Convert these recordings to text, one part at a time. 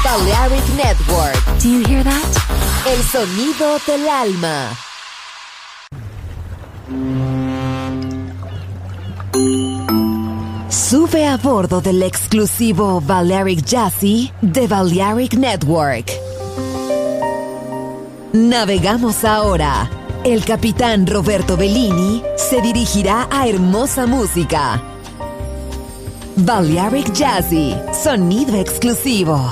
Balearic Network. Do you hear that? El sonido del alma. Sube a bordo del exclusivo Balearic Jazzy de Balearic Network. Navegamos ahora. El capitán Roberto Bellini se dirigirá a hermosa música. Balearic Jazzy, sonido exclusivo.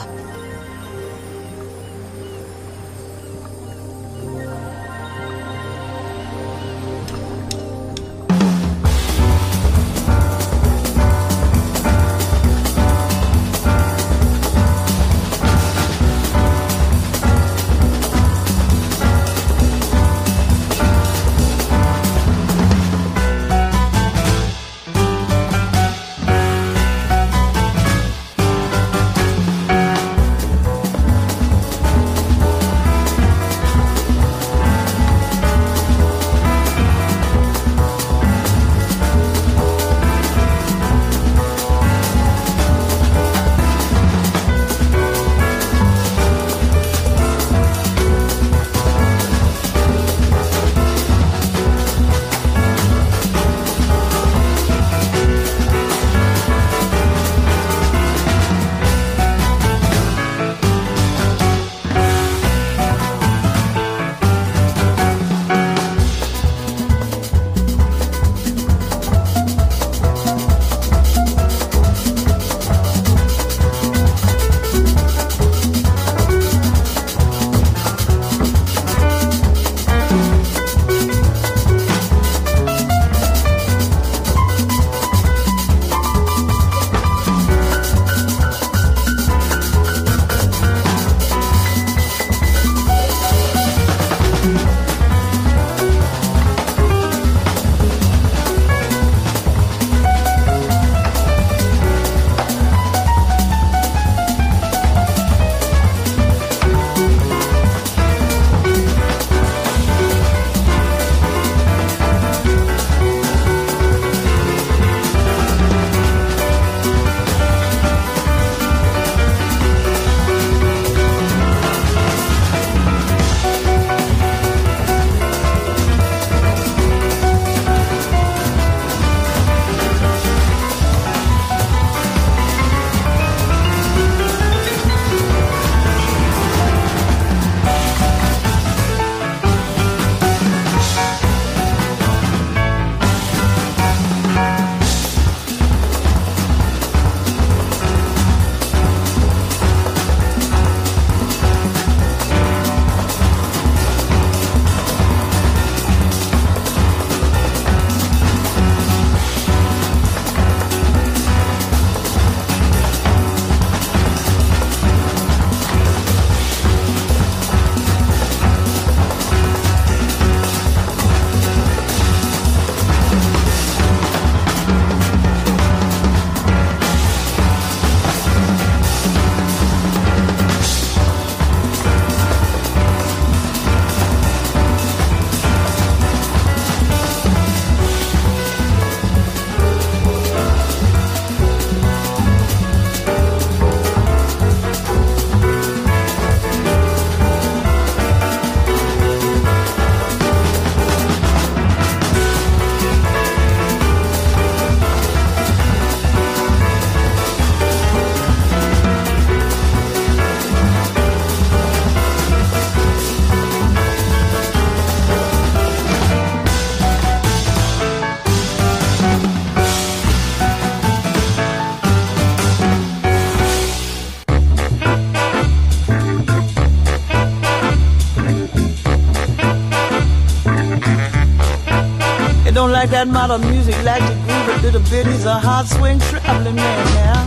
Don't like that modern music, like to groove a little bit. He's a hard swing traveling man now.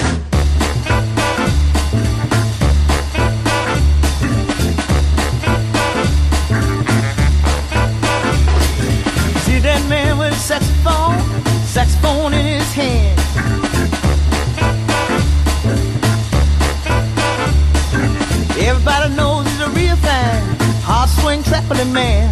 See that man with a saxophone in his hand. Everybody knows he's a real fine, hard swing traveling man.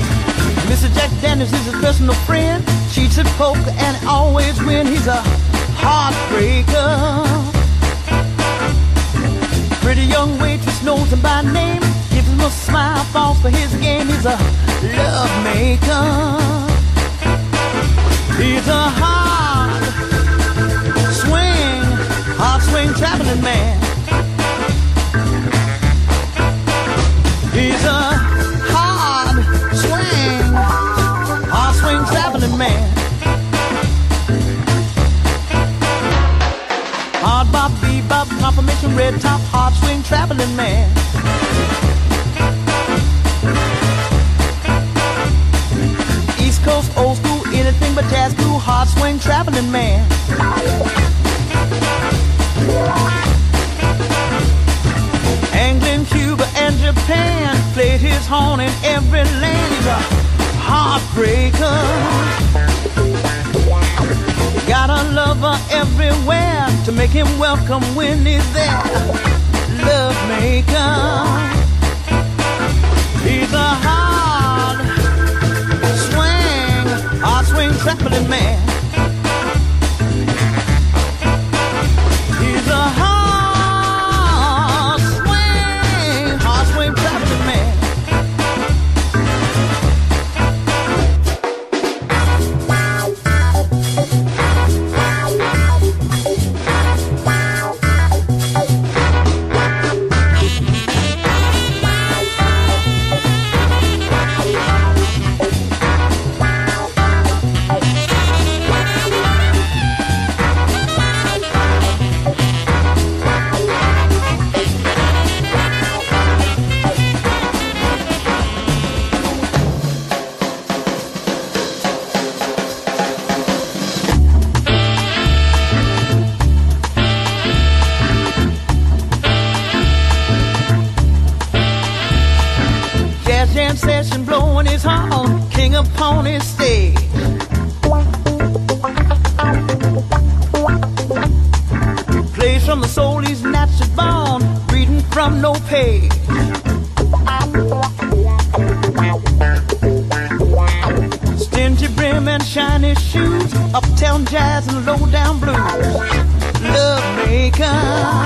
Mr. Jack Daniels is his personal friend. Cheats at poker and always win. He's a heartbreaker. Pretty young waitress knows him by name, gives him a smile, falls for his game. He's a love maker. He's a hard swing traveling man. He's a hard swing traveling man. Hard bop, bebop, confirmation, red top, hard swing traveling man. East Coast, old school, anything but jazz, cool, hard swing traveling man. England, Cuba, and Japan, played his horn in every land. He's a heartbreaker. Got a lover everywhere to make him welcome when he's there. Love maker. He's a hard swing traveling man. He's a hard swing traveling man. Session blowing his horn, king upon his stage. Plays from the soul he's naturally born, reading from no page. Stingy brim and shiny shoes, uptown jazz and low down blues. Love maker.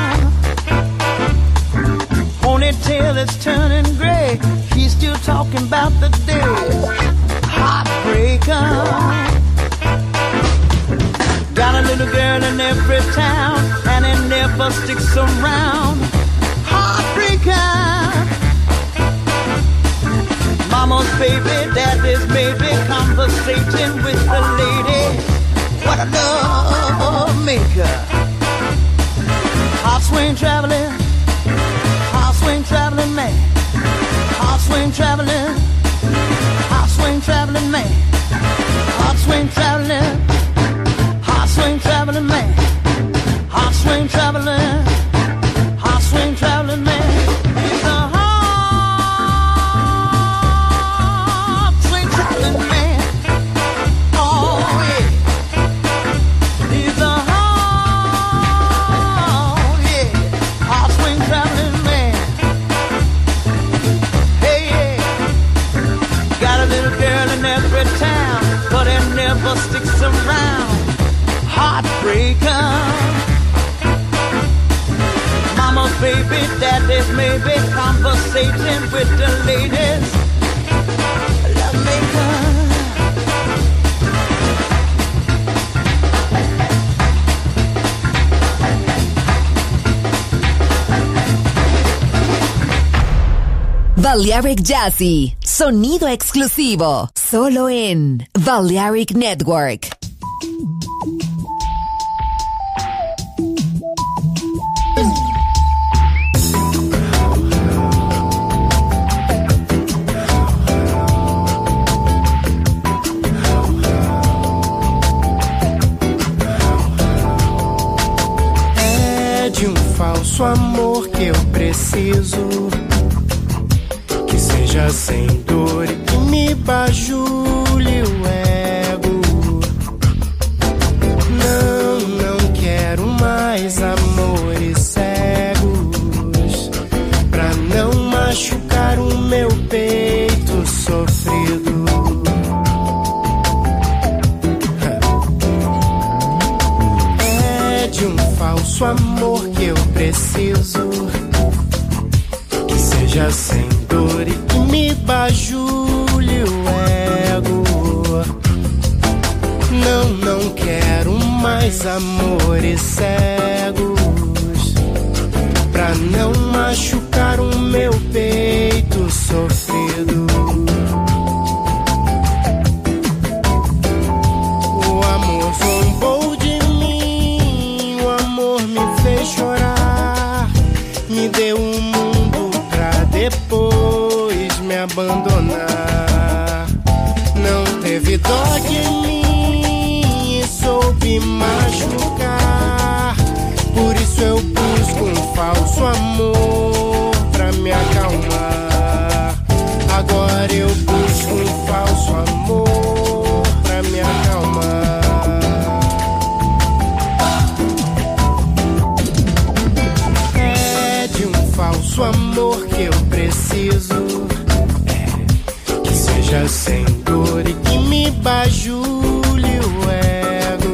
Ponytail is turning gray, he's still talking about the days. Heartbreaker. Got a little girl in every town, and it never sticks around. Heartbreaker. Mama's baby, daddy's maybe, conversating with the lady. What a love maker. Heart swing traveling. Swing traveling man, hard swing traveling man, hard swing traveling man, hard swing traveling man. He's a hard swing traveling man. Oh yeah, he's a hard swing traveling man. Town, but it never sticks around. Heartbreaker. Mama's baby, daddy's maybe, conversating with the ladies. Love maker. Balearic Jazzy, sonido exclusivo, solo en Balearic Network. É de um falso amor que eu preciso, seja sem dor e que me bajule o ego. Não quero mais amores cegos, pra não machucar o meu peito sofrido. falso amor que eu preciso, que seja sem dor e que me bajule o ego. Não quero mais amores cegos, pra não machucar o meu peito sofrido. O amor zombou de mim, o amor me fez chorar, me deu um mundo pra depois me abandonar. Não teve dó de mim e soube machucar, por isso eu busco um falso amor pra me acalmar. Agora eu busco um falso amor pra me acalmar. É de um falso amor que eu preciso, que seja sem dor e que me bajule o ego.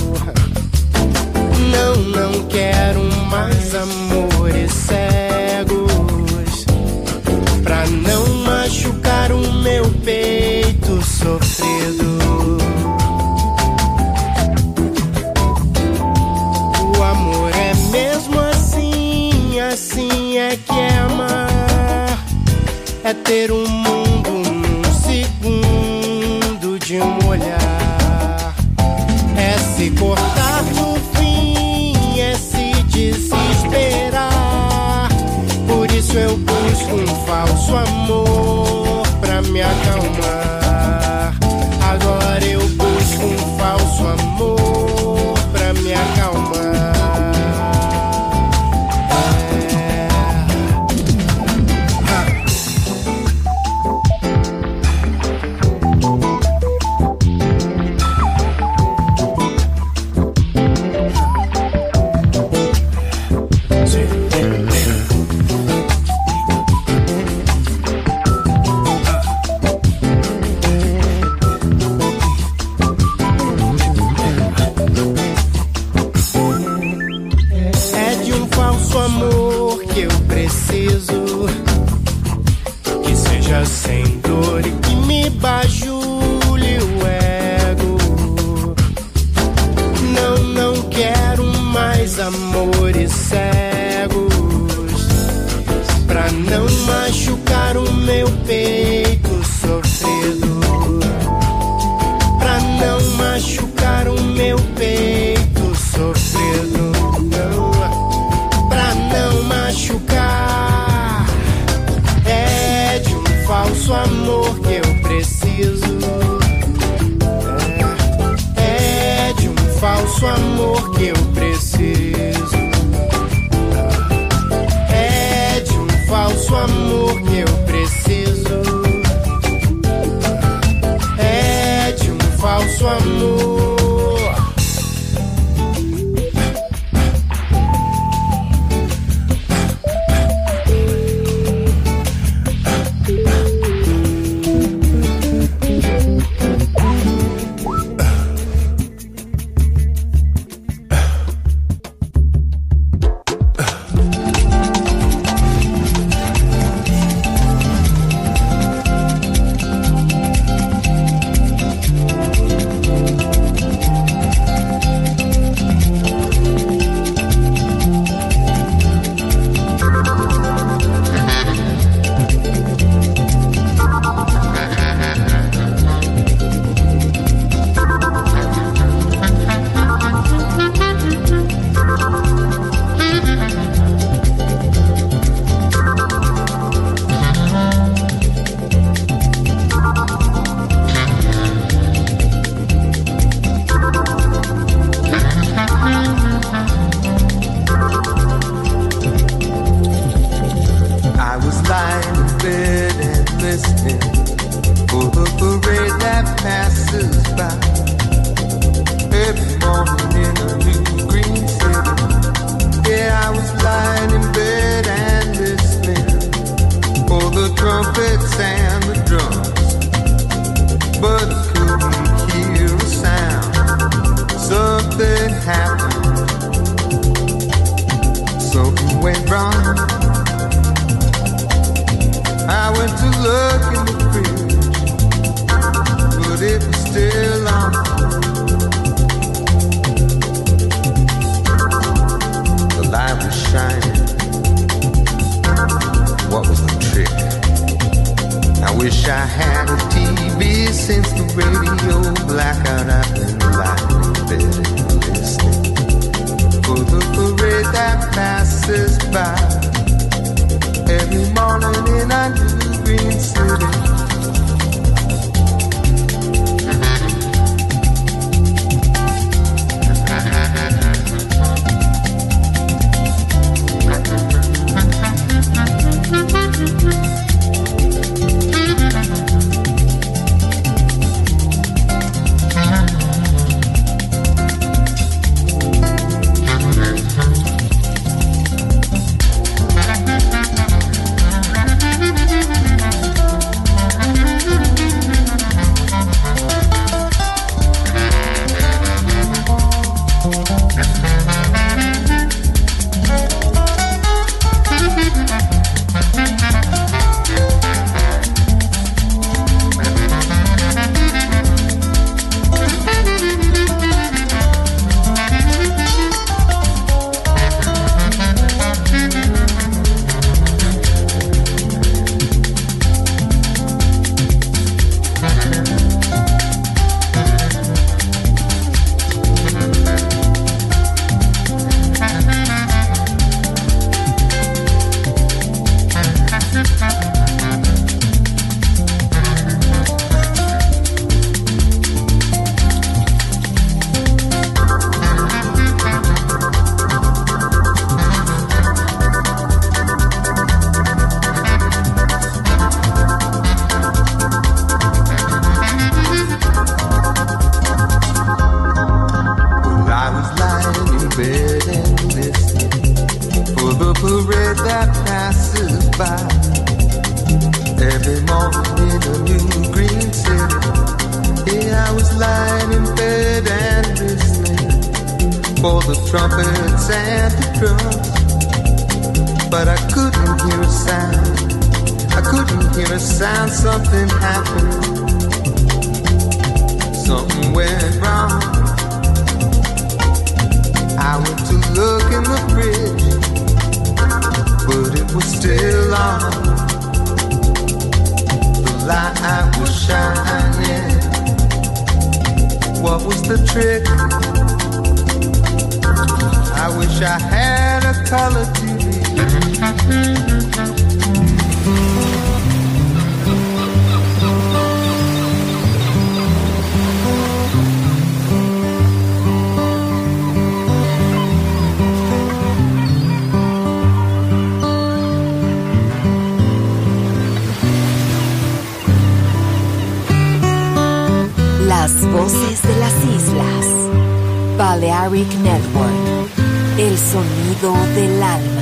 Não quero mais amores cegos, pra não machucar o meu peito sofrido. O amor é mesmo assim, assim é que é amar, é ter um mundo num segundo de um olhar, é se cortar no fim, é se desesperar. Por isso eu busco um falso amor pra me acalmar. Agora eu busco um falso amor pra me acalmar. Que seja sem dor e que me bajule o ego. Não quero mais amores cegos, pra não machucar o meu peito sofrido, pra não machucar o meu peito sofrido, não, pra não machucar. É de um falso amor que eu preciso, é de um falso amor que eu preciso, é de um falso amor que eu preciso, é de um falso amor. by every morning in a new green city. Las voces de las islas. Balearic Network. El sonido del alma.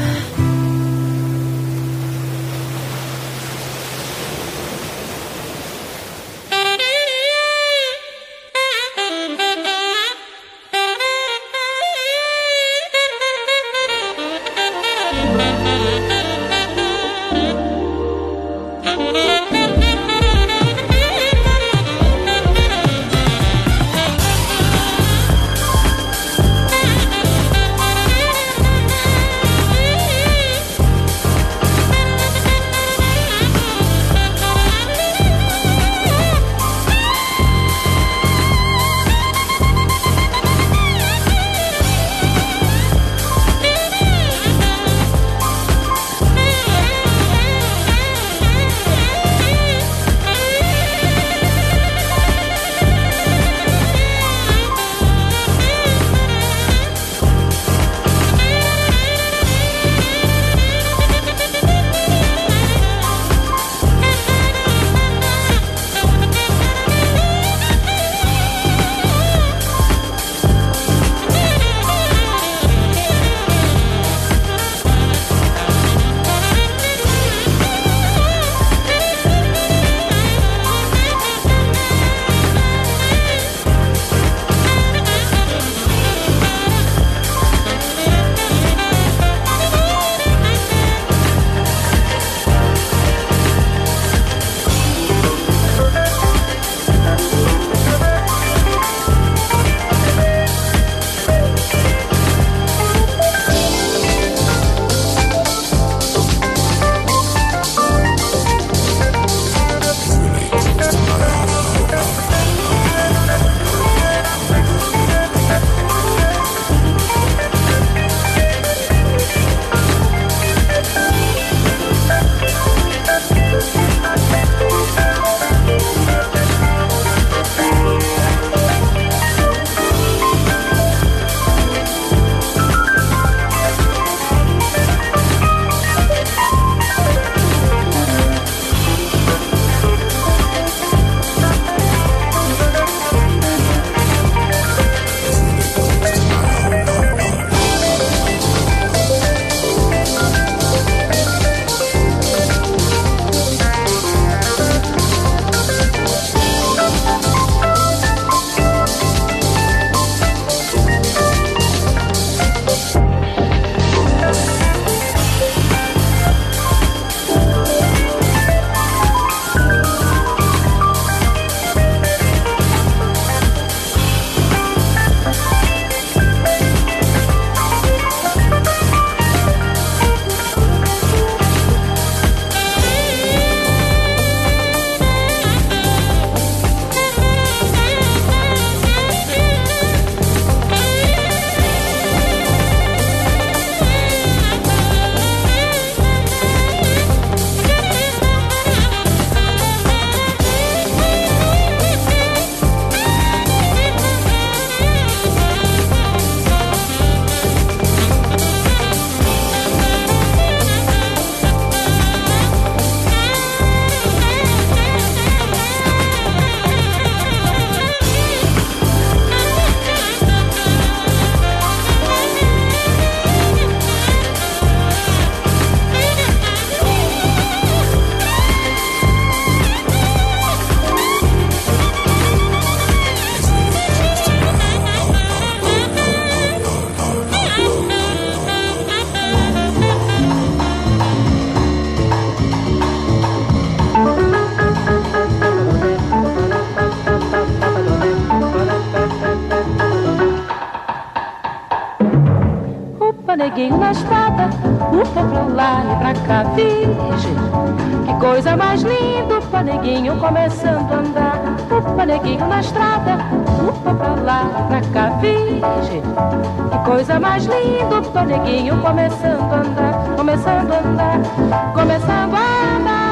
upa, neguinho na estrada, upa pra lá e pra cá, virgem. Que coisa mais linda, upa, neguinho começando a andar, upa, neguinho na estrada, upa pra lá e pra cá, virgem. Que coisa mais linda, upa, neguinho começando a andar, começando a andar, começando a andar.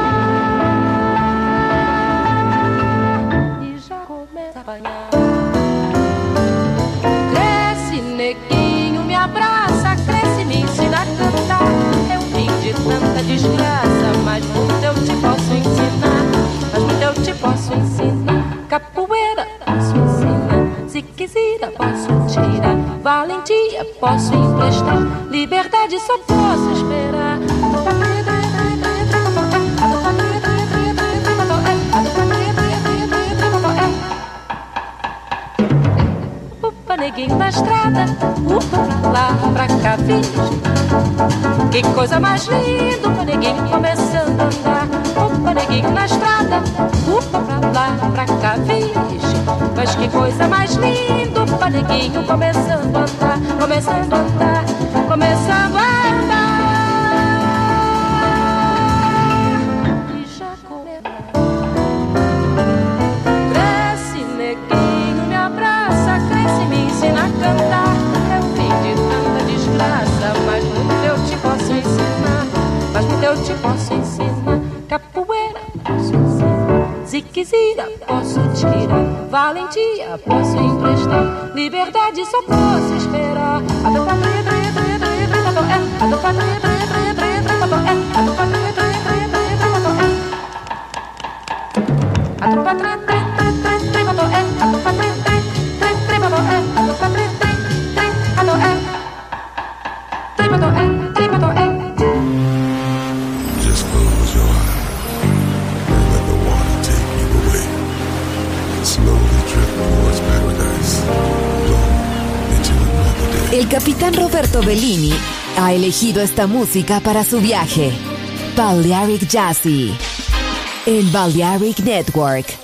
E já começa a apanhar. Cresce, neguinho, me abraça, cresce, me ensina a cantar. Eu vim de tanta desgraça, mas muito eu te posso ensinar. Mas muito eu te posso ensinar. Capoeira posso ensinar, se quiser posso tirar. Valentia posso emprestar, liberdade só posso esperar. Upa, neguinho na estrada, upa pra lá, pra cá, virgem. Que coisa mais linda, upa, neguinho começando a andar. Upa, neguinho na estrada, upa pra lá, pra cá, virgem. Mas que coisa mais linda, upa, neguinho começando a andar, começando a andar, começando a andar. E já começa. Cresce, neguinho, me abraça, cresce, me ensina a cantar. É o fim de tanta desgraça, mas muito eu te posso ensinar. Mas muito eu te posso ensinar. Capoeira posso ensinar, se quiser posso tirar. Valentia posso emprestar, liberdade só posso esperar. Just close your eyes and let the water take you away. Slowly drift towards paradise. Flow into another day. El capitán Roberto Bellini ha elegido esta música para su viaje. Balearic Jazzy en Balearic Network.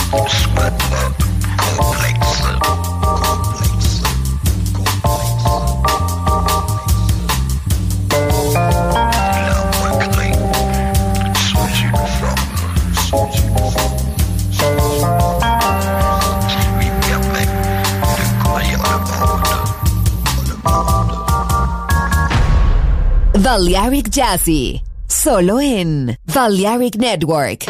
Balearic Jazzy, solo en Balearic Network.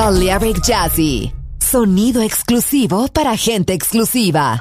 Balearic Jazzy. Sonido exclusivo para gente exclusiva.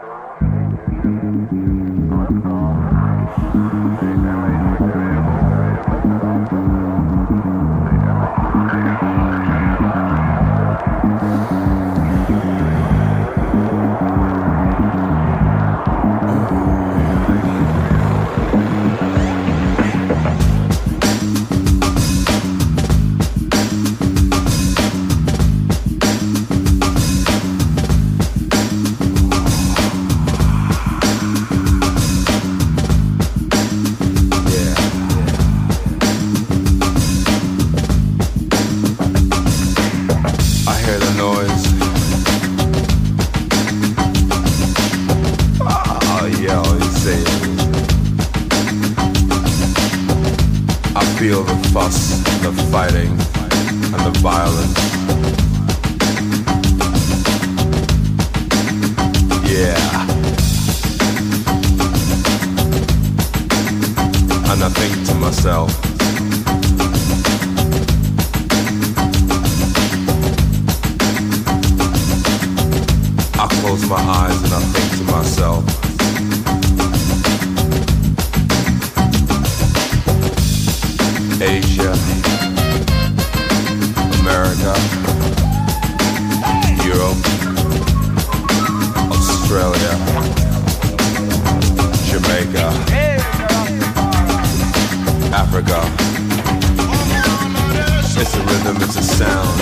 Feel the fuss, the fighting, and the violence. Yeah. And I think to myself, I close my eyes and I think to myself, Asia, America, Europe, Australia, Jamaica, Africa. It's a rhythm, it's a sound.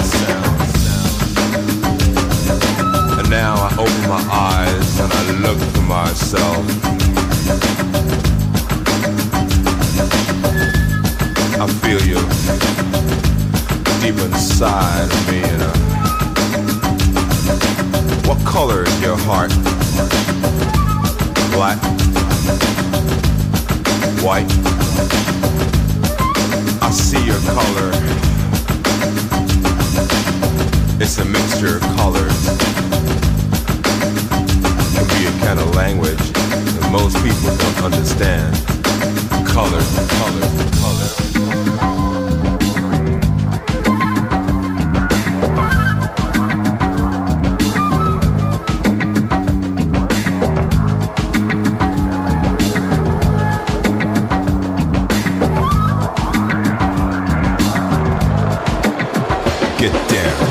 And now I open my eyes and I look for myself. I feel you deep inside of me, what color is your heart? Black? White? I see your color. It's a mixture of colors. It can be a kind of language that most people don't understand. Colors, colors, colors. Get down.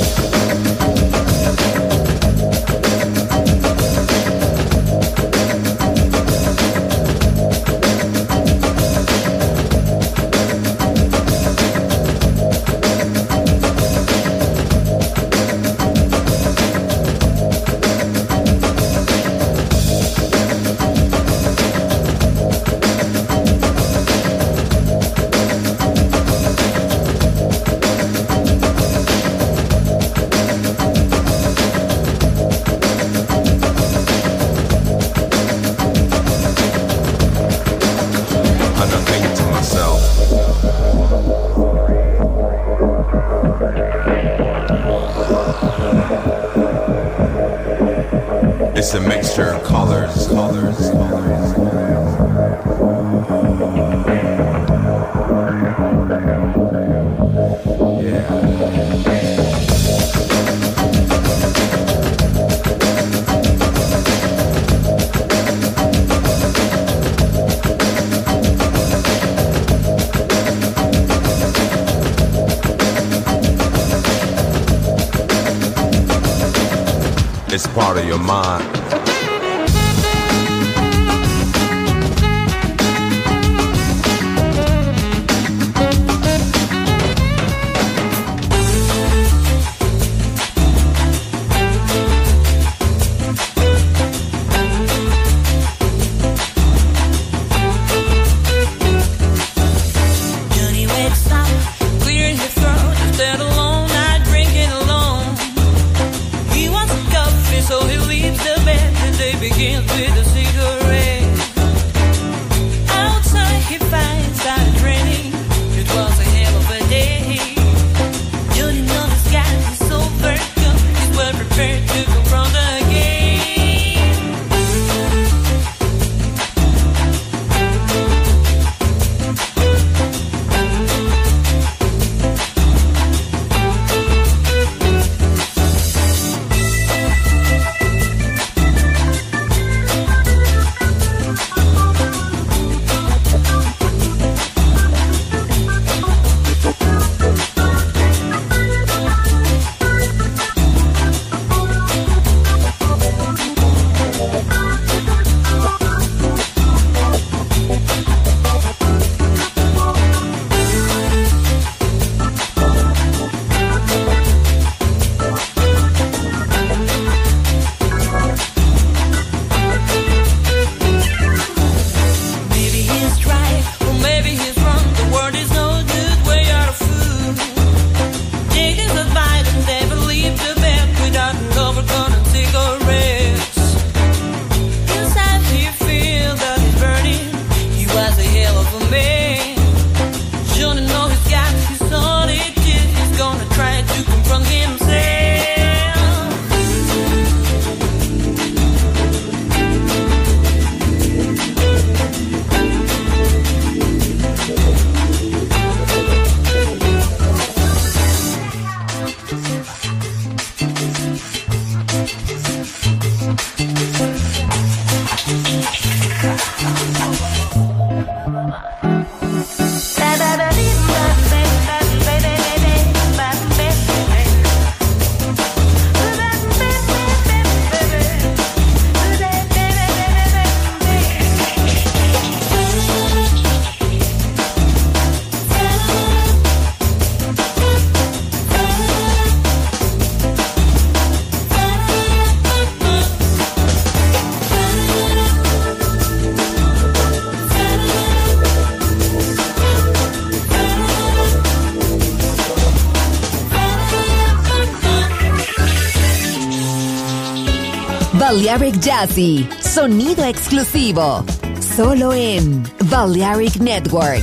It's a mixture of colors, colors, colors. It's part of your mind. So he leaves the bed. maybe he's wrong. The world is no good where you're a fool. Take his advice and never leave the bed without a cover, gonna take a rest. Inside you feel that it's burning. He was a hell of a man. Shouldn't know he's got his solitude. He's gonna try to confront himself. Balearic Jazzy, sonido exclusivo, solo en Balearic Network.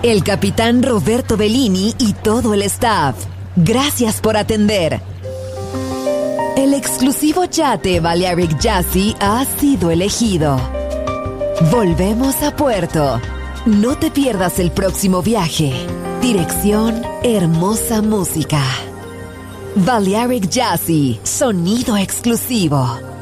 el capitán Roberto Bellini y todo el staff. Gracias por atender. El exclusivo yate Balearic Jazzy ha sido elegido. Volvemos a puerto. No te pierdas el próximo viaje. Dirección Hermosa Música. Balearic Jazzy, sonido exclusivo.